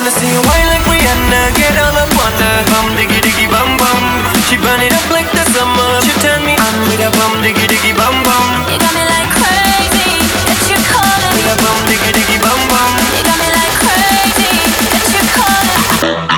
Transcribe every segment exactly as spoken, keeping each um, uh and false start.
wanna see you wine like Rihanna, get all up on her bum diggy diggy bum bum. She burn it up like the summer. She turn me on with a bum diggy diggy bum bum. You got me like crazy, that you're calling me. With a bum diggy diggy bum bum. You got me like crazy, that you're calling me.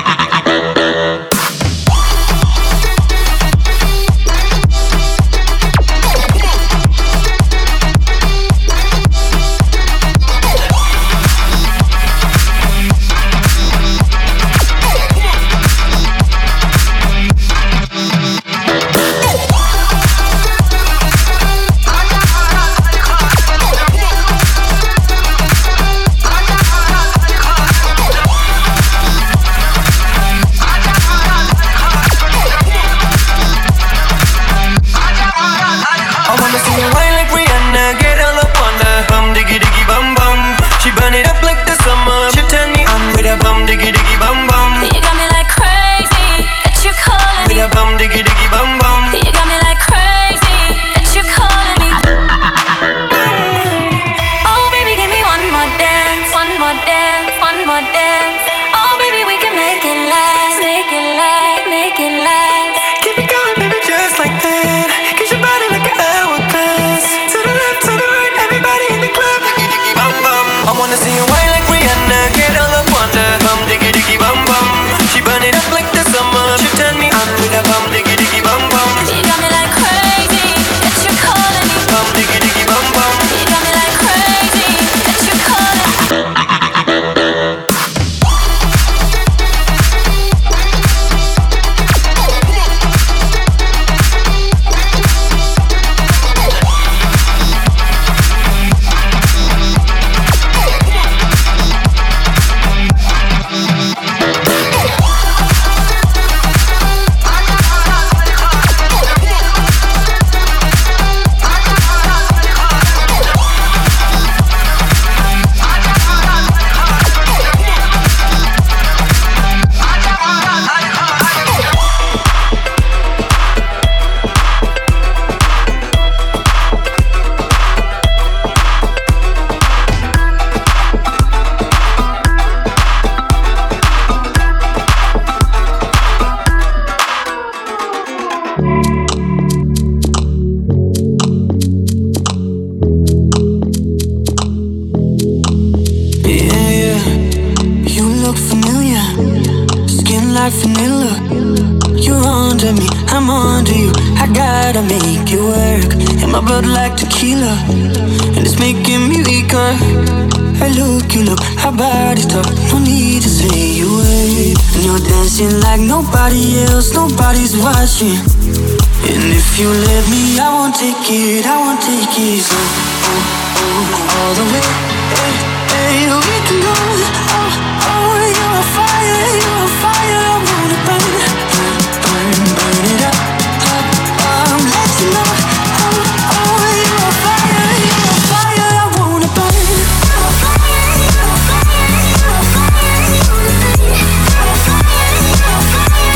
And if you let me, I won't take it, I won't take it so, oh, oh, all the way, hey, hey, we can go, oh, oh, you're a fire, you're a fire, I wanna burn, burn, burn, burn it up, up, um, let you know, oh, oh, you're a fire, you're a fire, I wanna burn, you're a fire, you're a fire, you're a fire, you're a fire, you're a fire, you're a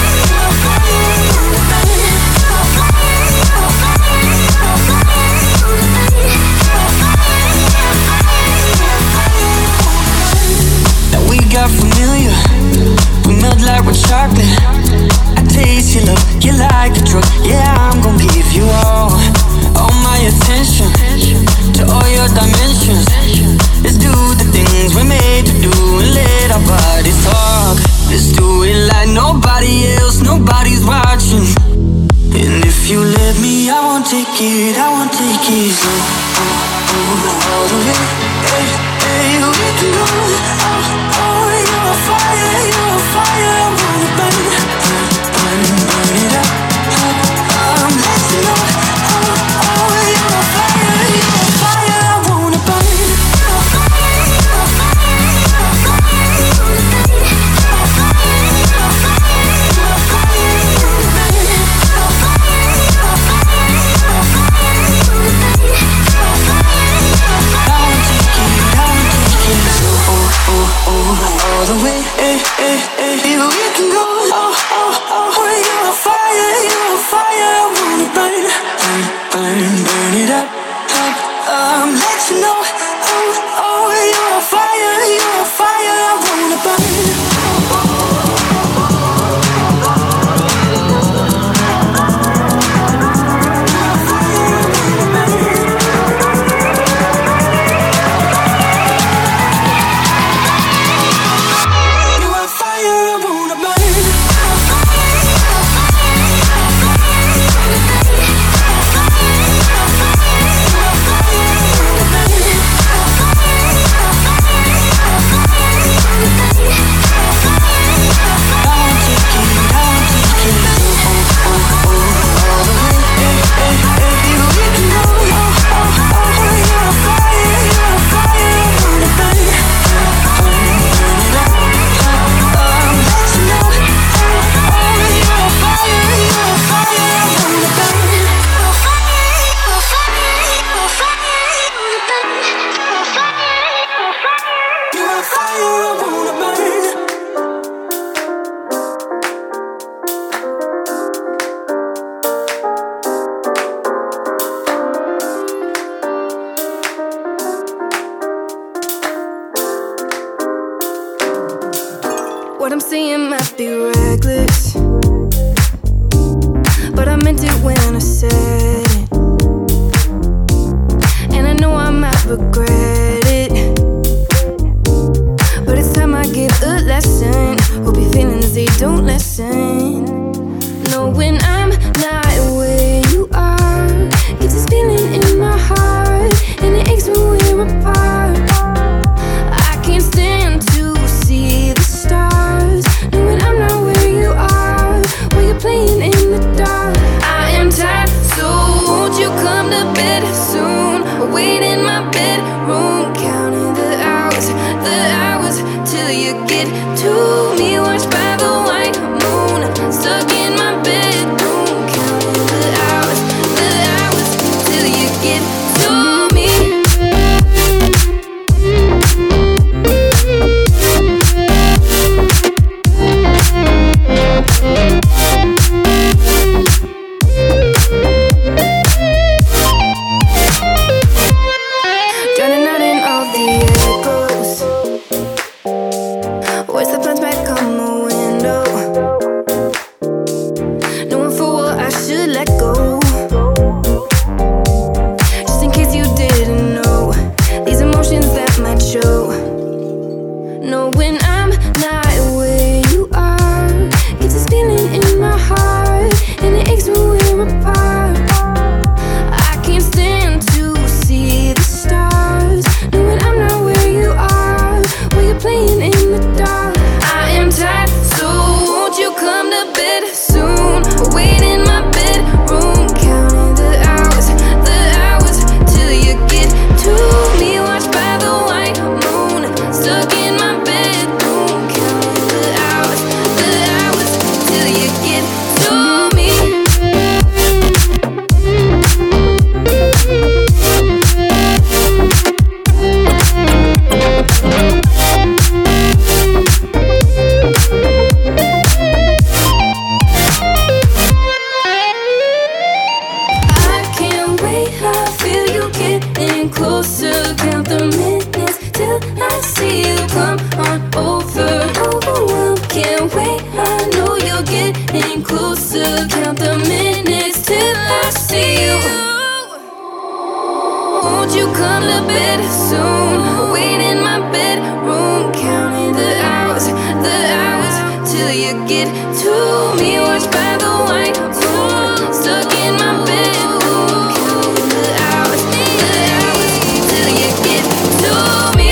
fire, you're a fire. Got familiar, we melt like with chocolate. I taste your love, you like the drug. Yeah, I'm gon' give you all, all my attention, to all your dimensions. Let's do the things we're made to do and let our bodies talk. Let's do it like nobody else, nobody's watching. And if you let me, I won't take it, I won't take it so, oh, oh, all the way, hey, hey, we can go, oh, oh. You're a fire, you're a fire, I wanna burn, burn, burn, burn it up, up, um, let you know, oh, oh, you're a fire, you're a fire, I wanna burn, you're a fire, you're a fire, you're a fire, you're a fire, you're a fire, you're a fire, you're a fire, you're a fire, you're a fire, you're a fire, you're a fire, you're a fire, you're a fire. I won't take it, I won't take it, so, oh, oh, oh. All the way, eh, eh, eh, here we can go. Oh, oh, oh, you're a fire, you're a fire. I wanna burn, burn, burn, burn it up, up, um, let you know. Oh, oh, you're a fire, you're a fire. I wanna burn. I'm saying might be reckless, but I meant it when I said it. And I know I might regret it, but it's time I give a lesson. Hope your feelings, they don't lessen. No, when I'm not where you are, it's this feeling in my heart, and it aches when we're apart. I can't stand to see the stars, knowing I'm not where you are, while you're playing in the dark. I am tired, so won't you come to bed soon? Wait in my bedroom, counting the hours, the hours, till you get to me. Watched by the white moon, stuck in my bedroom, counting the hours, the hours, till you get to me. Drowning out in all the echoes, voice that plunge back on the window, knowing full well I should let go. Just in case you didn't know, these emotions that might show. No, when I'm not where you are, it's this feeling in my heart, and it aches when we're apart. I can't stand to see the stars, knowing I'm not where you are, while you're playing in the dark. I am tired, so won't you come to bed soon? Wait in my bedroom, counting the hours, the hours, till you get to me. Watched by the white moon, stuck in my bedroom, counting the hours, the hours, till you get to me. I can't wait, I feel you getting closer. Count the minutes till I see you come on over. Overwhelmed, can't wait, I know you're getting closer. Count the minutes till I see you. Won't you come to bed soon? Wait in my bedroom, counting the hours, the hours, till you get to me. Watched by the white moon, stuck in my bedroom, counting the hours, the hours, till you get to me.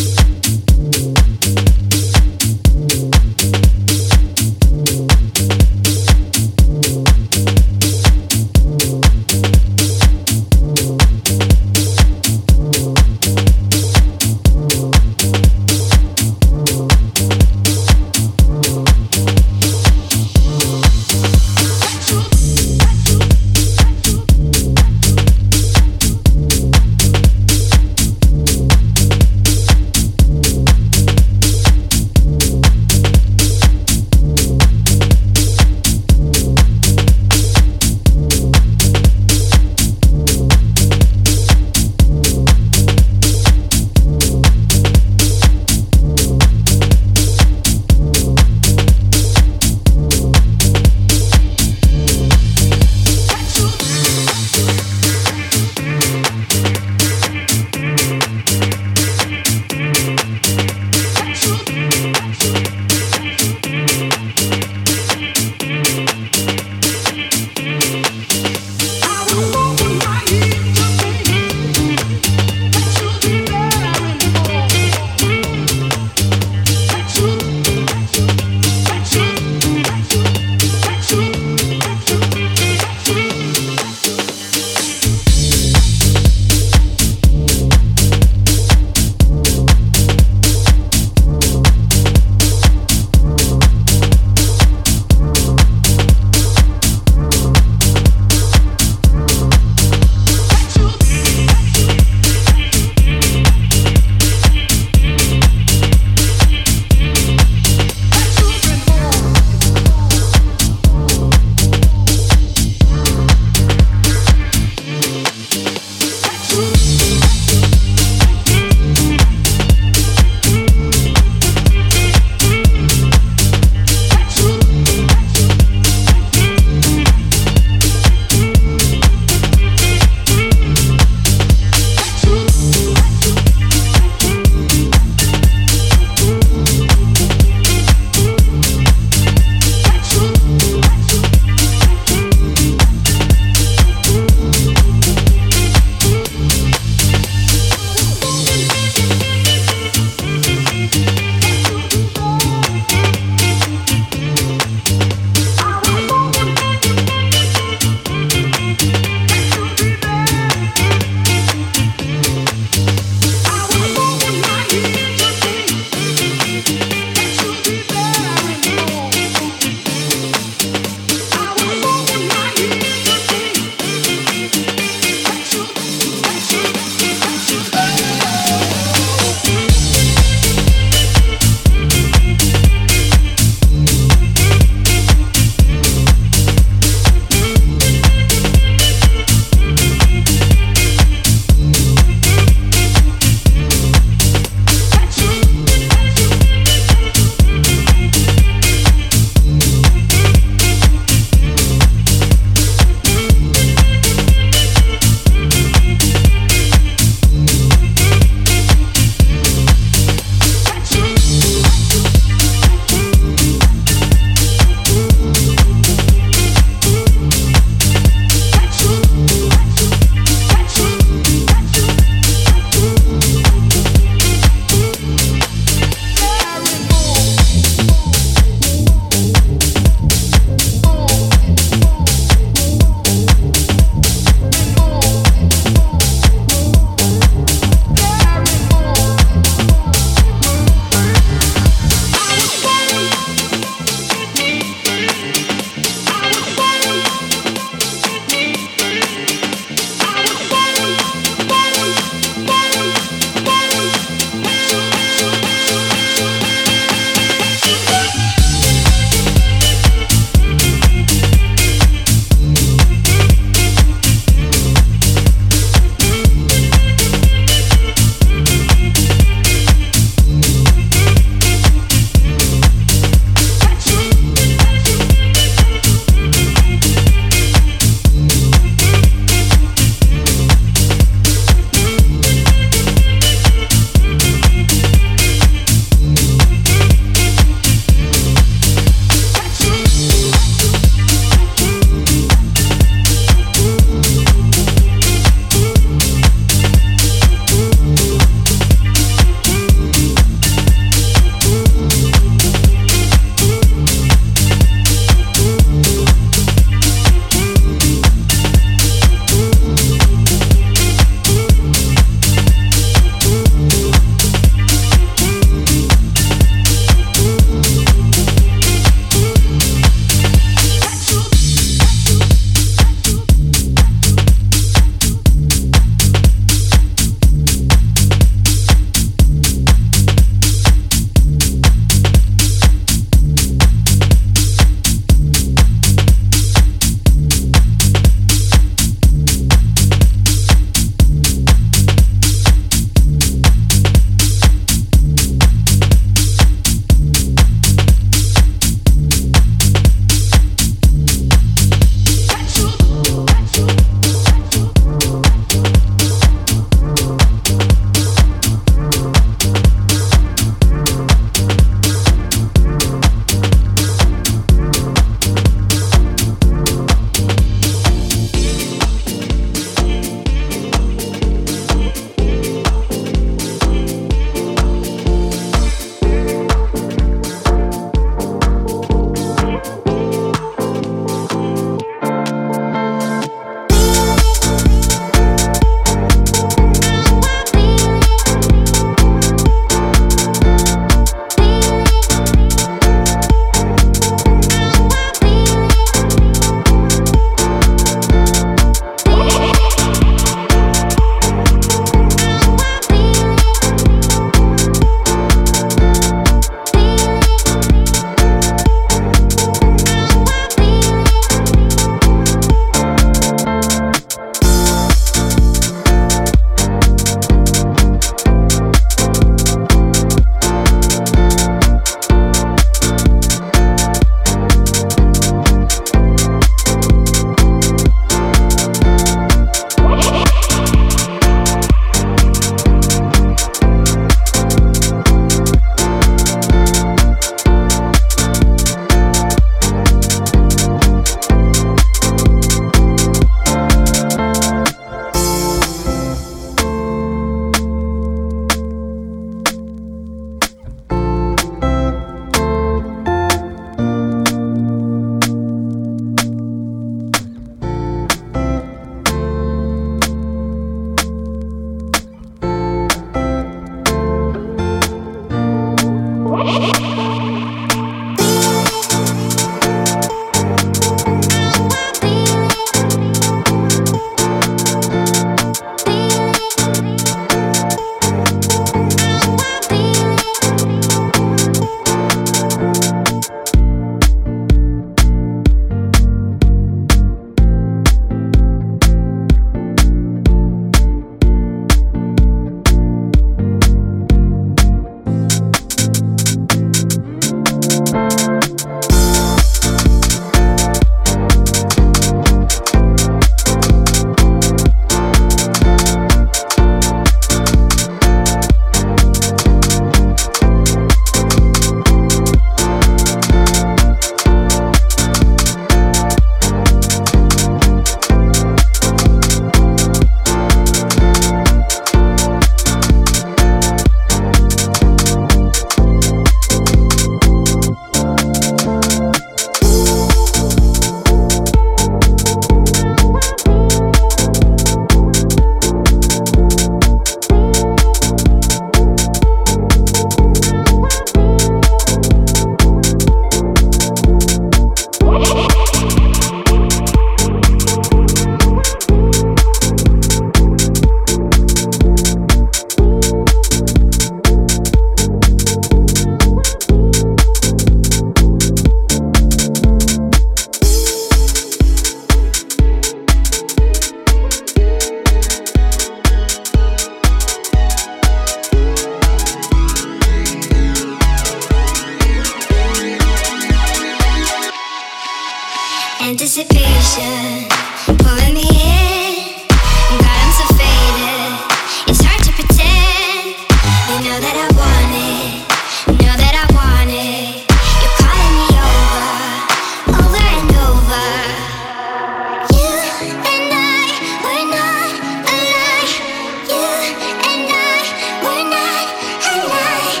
anticipation, pulling me in. God, I'm so faded. It's hard to pretend. You know that I want it. Know that I want it. You're calling me over, over and over. You and I were not alike. You and I were not alike.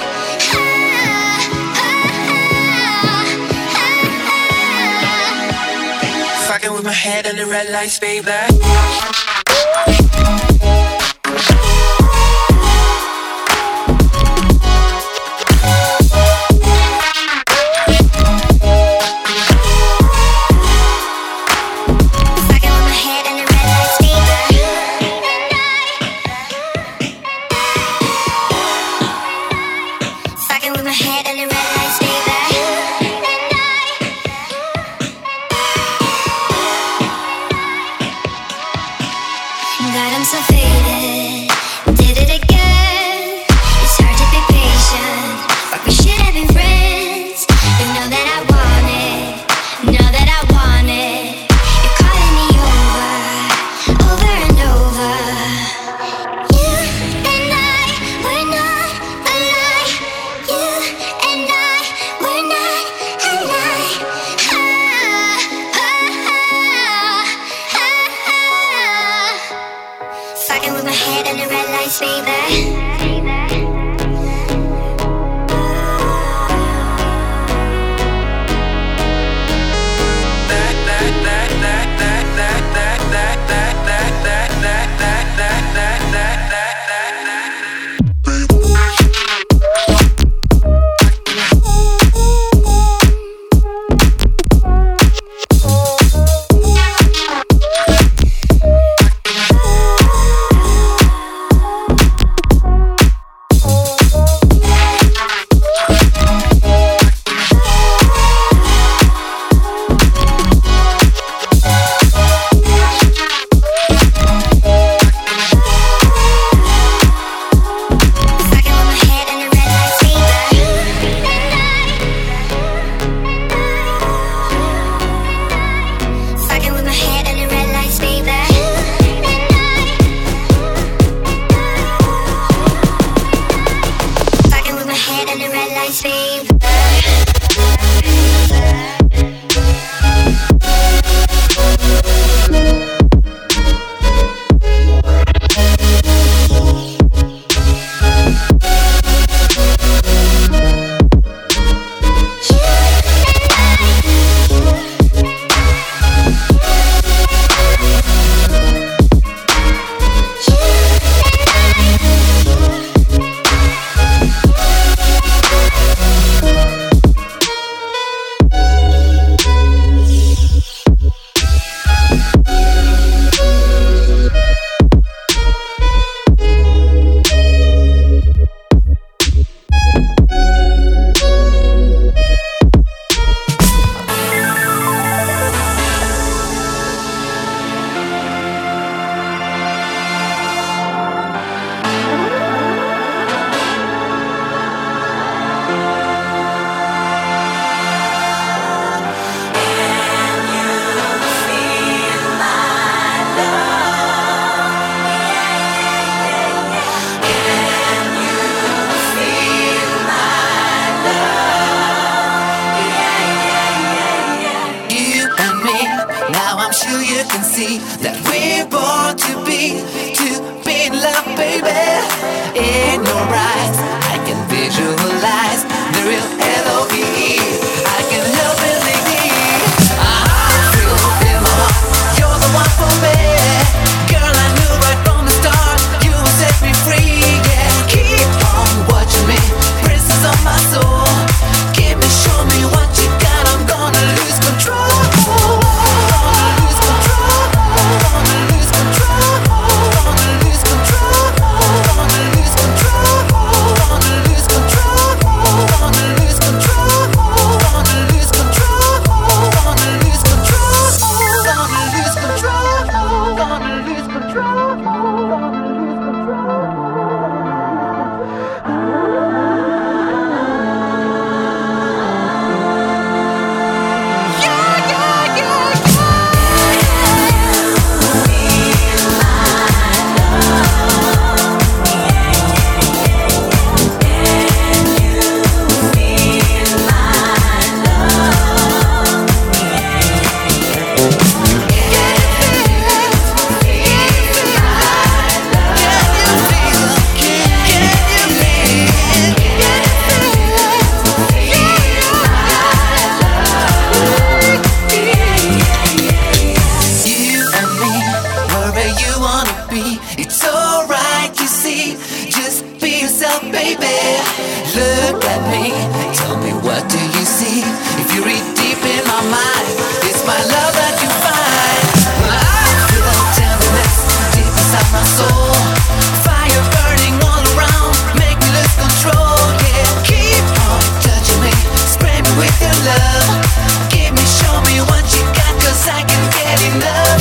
Fucking with my head on the red lights, baby. baby. Look at me, tell me what do you see? If you read deep in my mind, it's my love that you find. I feel tenderness deep inside my soul. Fire burning all around, make me lose control. Yeah, keep on touching me, spray me with your love. Give me, show me what you got, 'cause I can't get enough.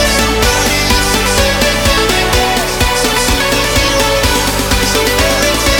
Somebody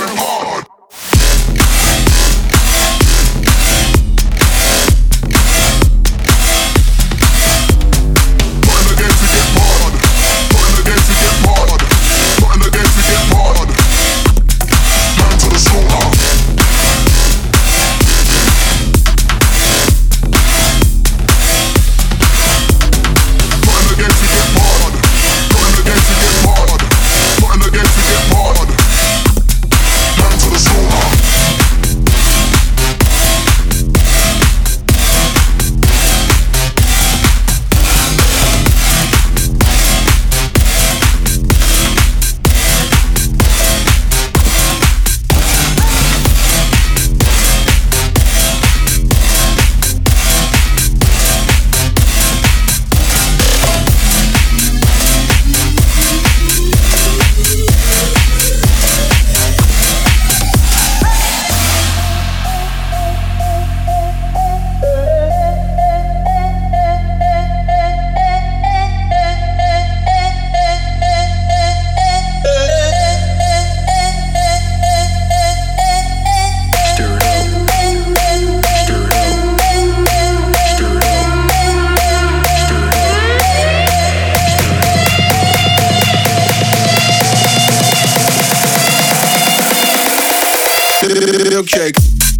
Milkshake.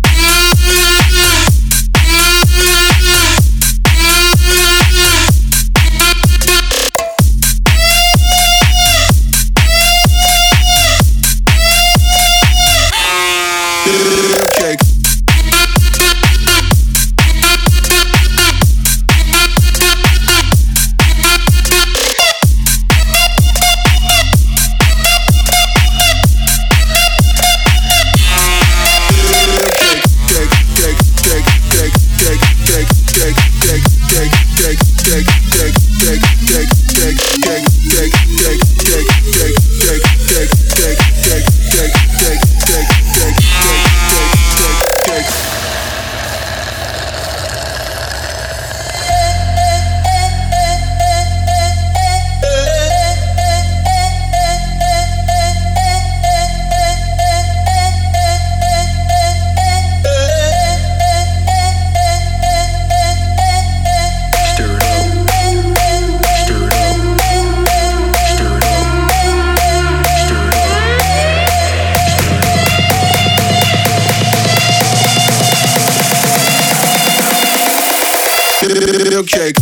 Milkshake.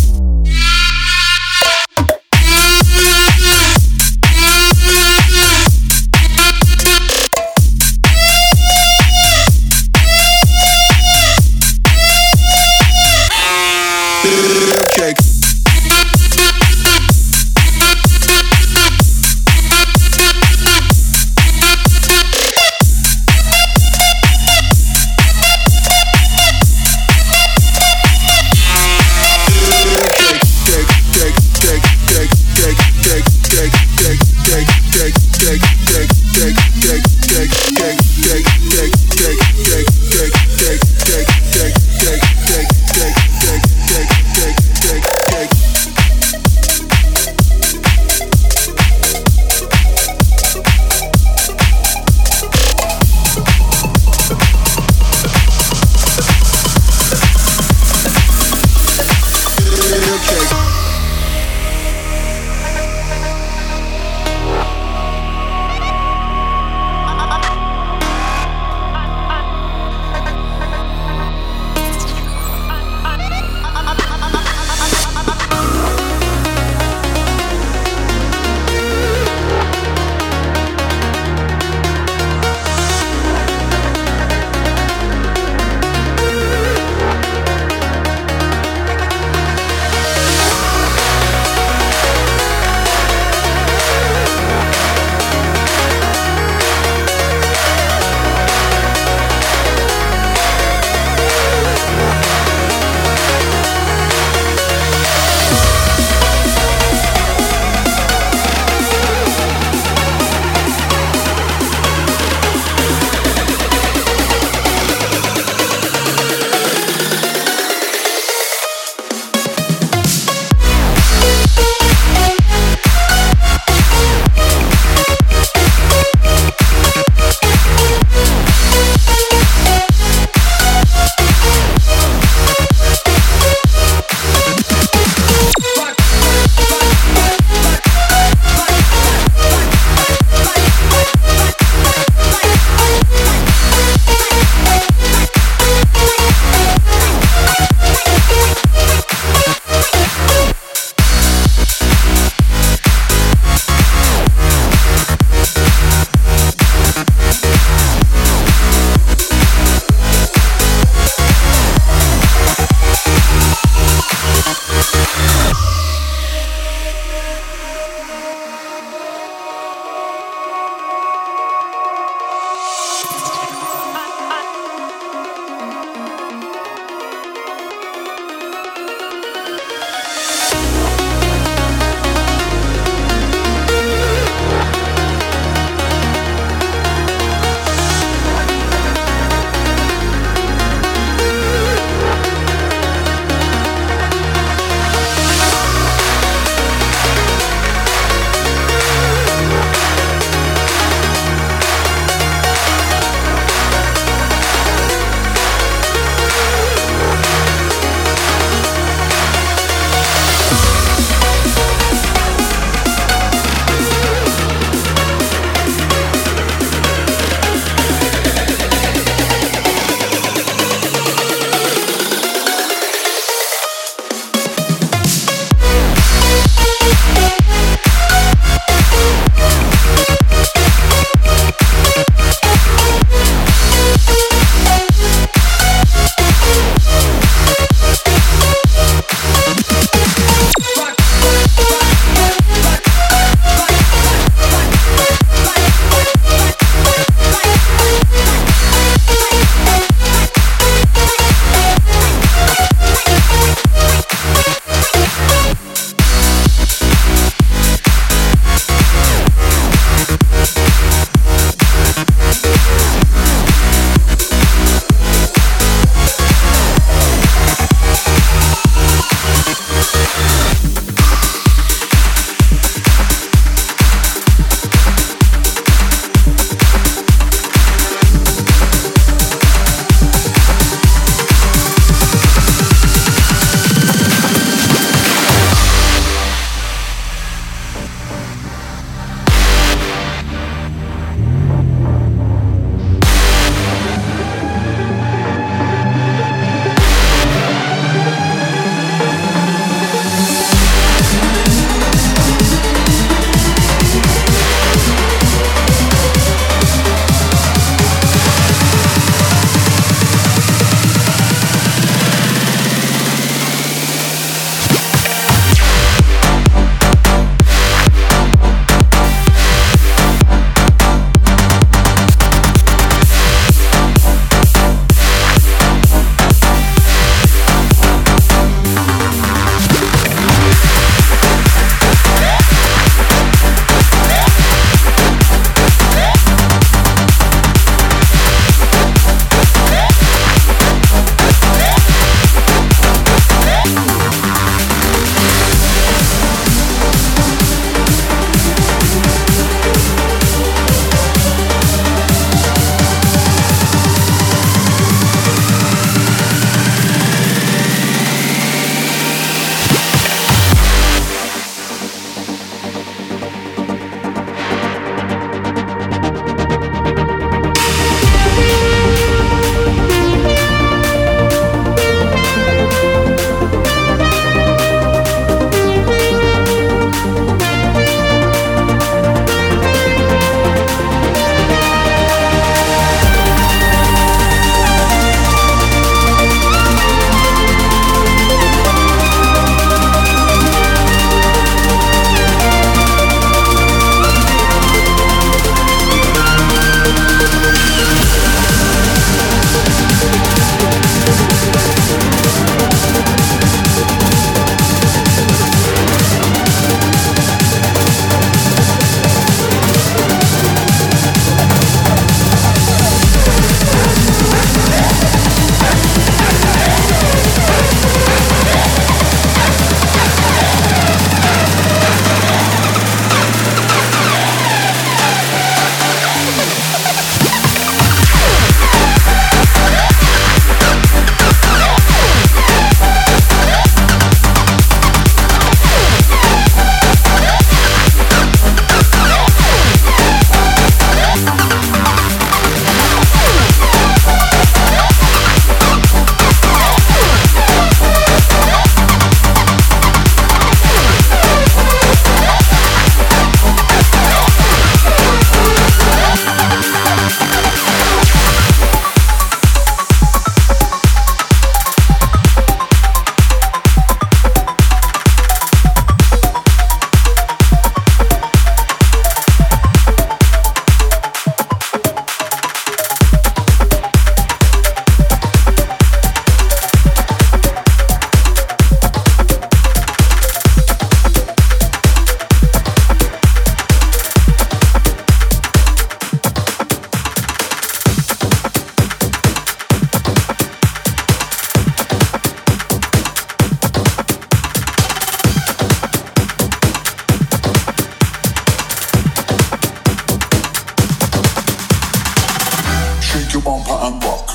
bumper and rock.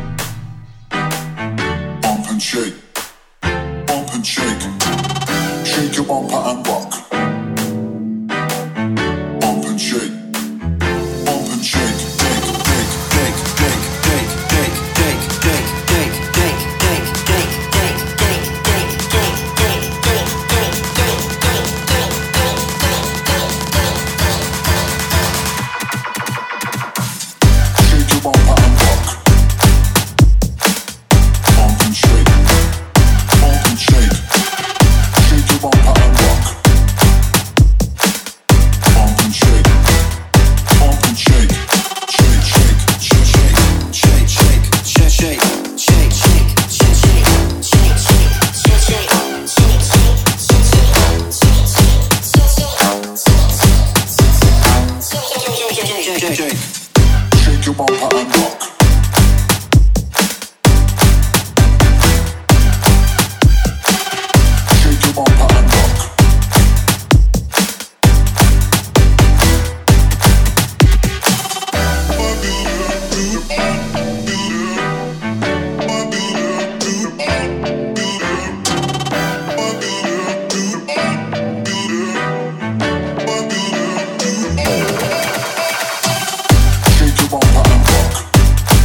Bump and shake. Bump and shake. Shake your bumper and rock. Bump and shake. Bump and shake. Shake, shake, shake, shake, shake, shake, shake, shake, shake, shake, shake, shake, shake, shake, shake, shake, shake your bumper and rock. Bump and shake. Bump and shake. Shake your bumper and rock. Bump and shake. Bump and shake. Shake, shake, shake, shake, shake, shake, shake, shake, shake, shake, shake, shake, shake, shake, shake, shake your bumper and rock. Shake your bumper and rock. Shake your bumper and rock.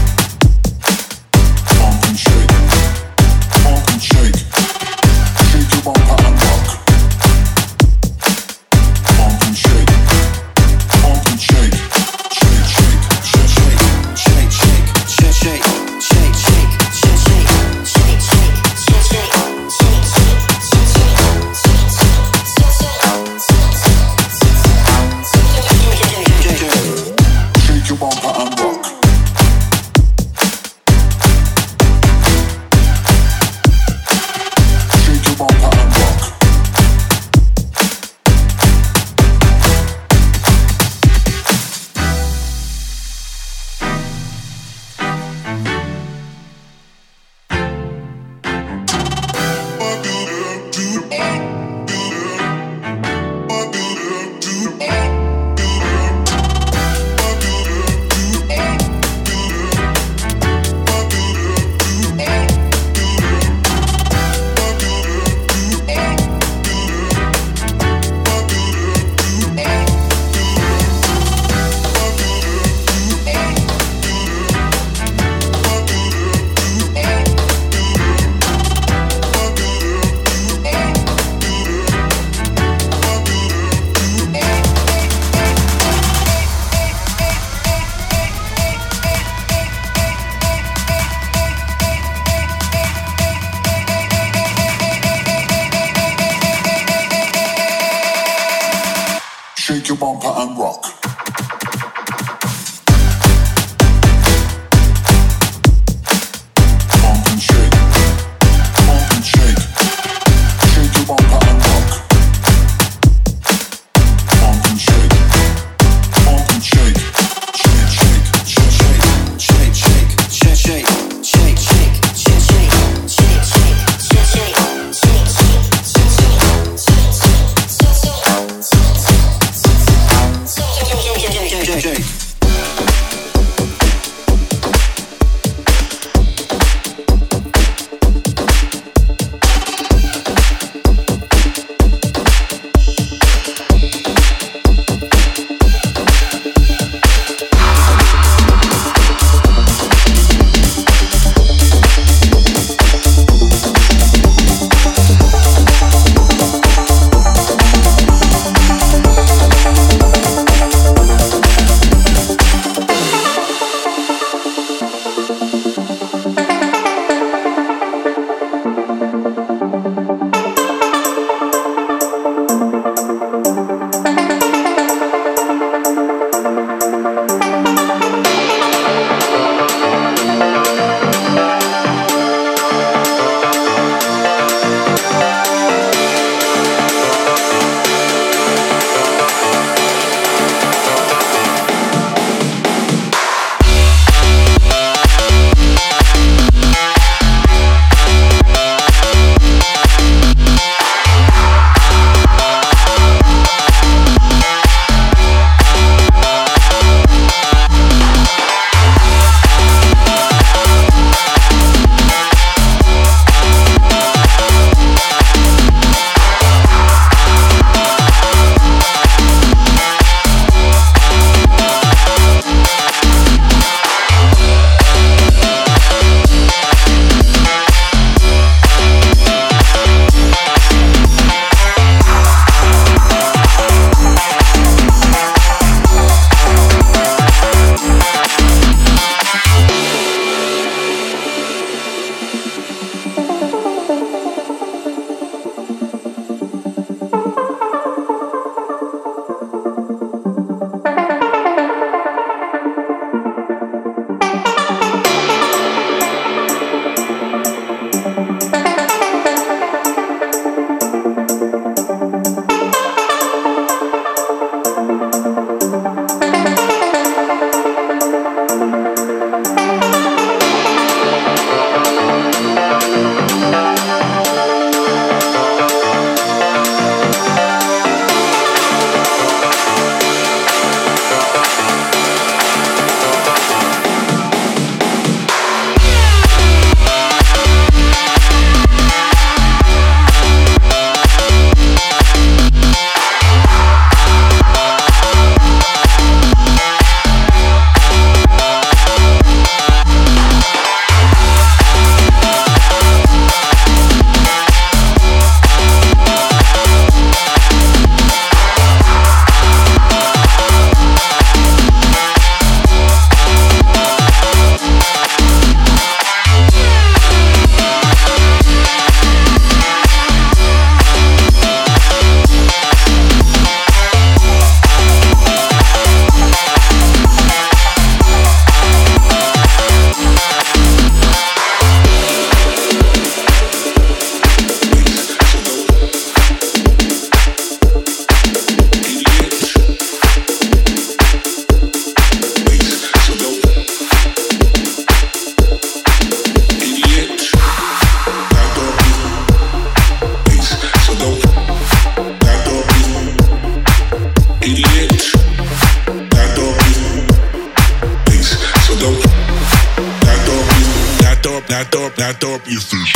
not up, not up your fish.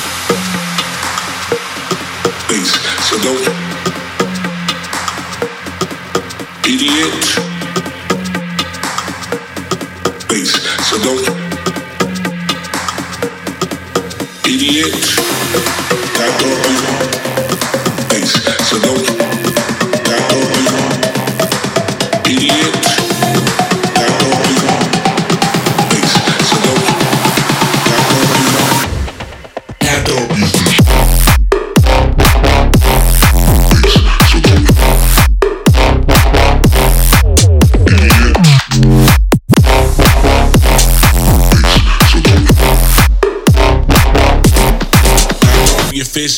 Bass, so don't. Idiot. Bass, so don't. Idiot. Not up your bass, so don't. Not up your idiot. Not up your bass, so don't. Not up your not up your fish. Your fist.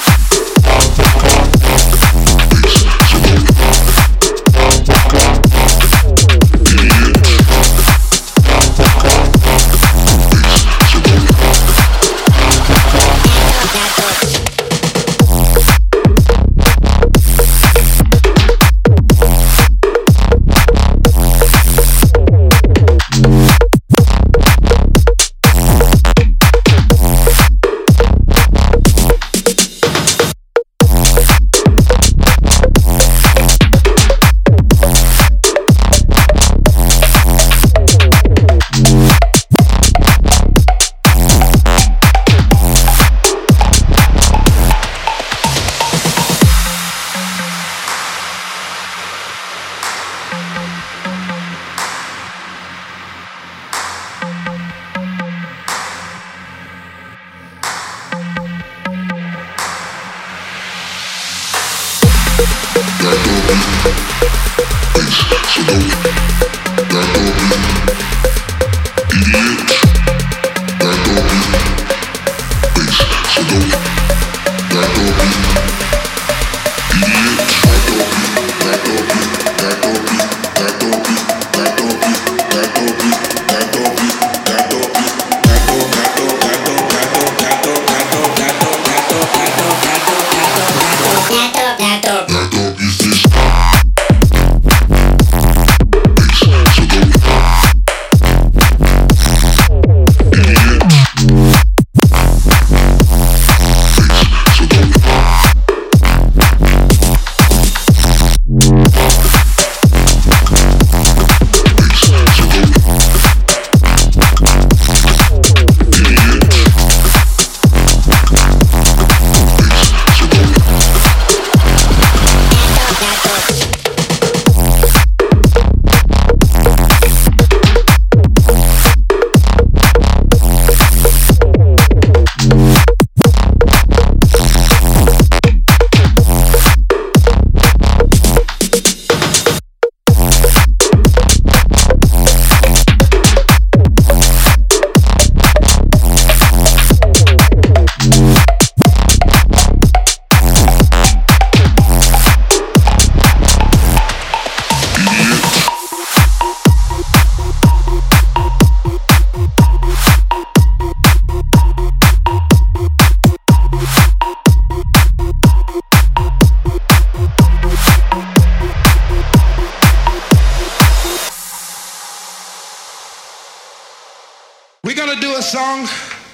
We're gonna do a song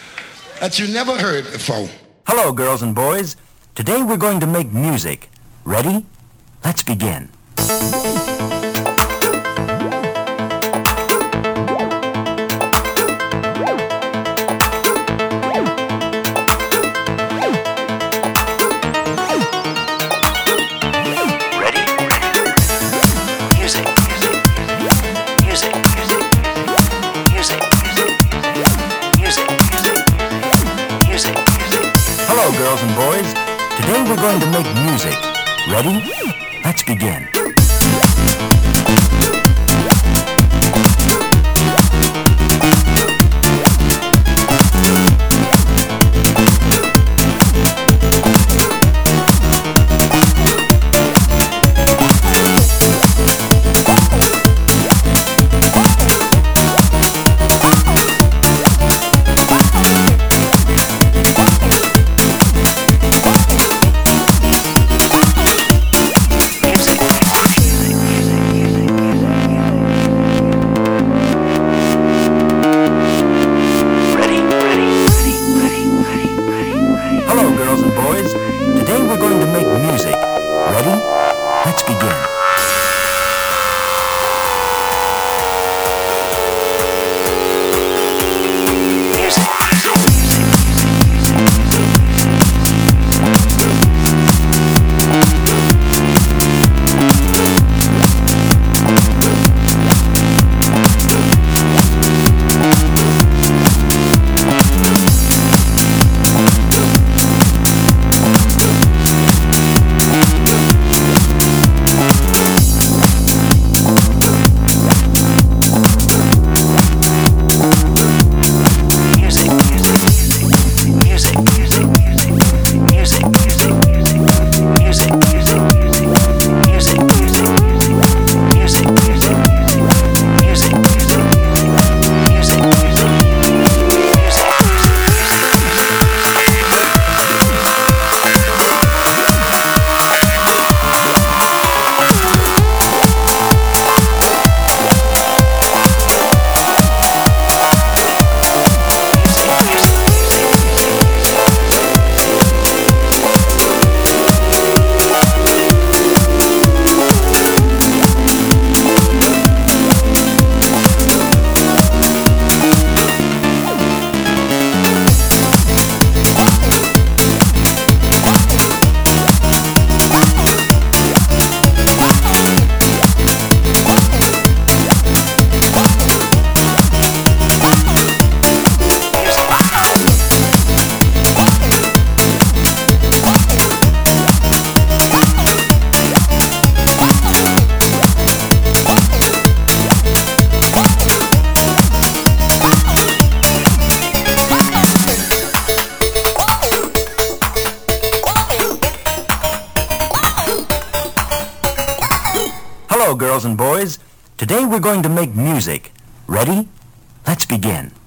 that you never heard before. Hello, girls and boys. Today we're going to make music. Ready? Let's begin. Hello, girls and boys. Today we're going to make music. Ready? Let's begin. Music. girls and boys. Today we're going to make music. Ready? Let's begin.